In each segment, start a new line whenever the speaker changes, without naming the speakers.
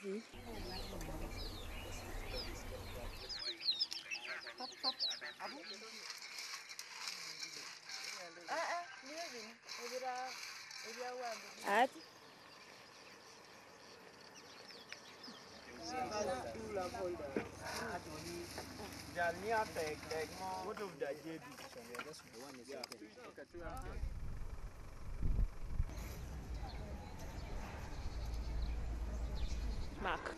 Ati
what of the JD?
Mark.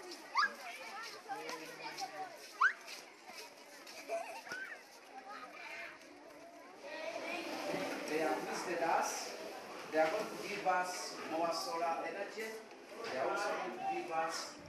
They have listed us. They are going to give us more solar energy. They are also going to give us